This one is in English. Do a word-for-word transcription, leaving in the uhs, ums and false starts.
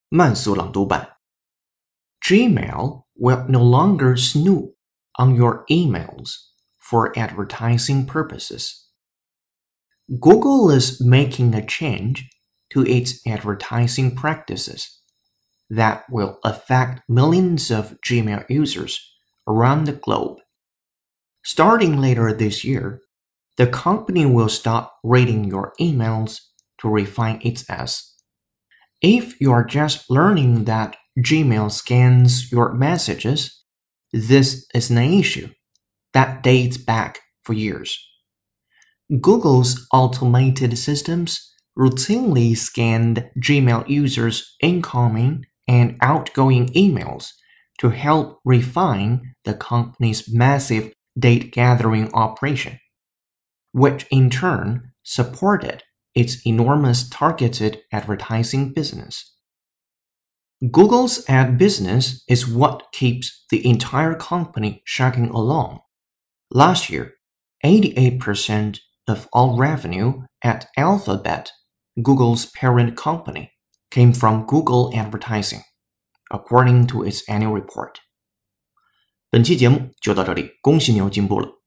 慢速朗读版 Gmail will no longer snoop on your emails for advertising purposes. Google is making a change to its advertising practices that will affect millions of Gmail users around the globe. Starting later this year, the company will stop reading your emails to refine its ads. If you are just learning that Gmail scans your messages, this is an issue that dates back for years. Google's automated systems routinely scanned Gmail users' incoming and outgoing emails to help refine the company's massive data gathering operation, which in turn supported its enormous targeted advertising business. Google's ad business is what keeps the entire company chugging along. Last year, eighty-eight percent of all revenue at Alphabet, Google's parent company, came from Google advertising, according to its annual report. 本期节目就到这里，恭喜你又进步了。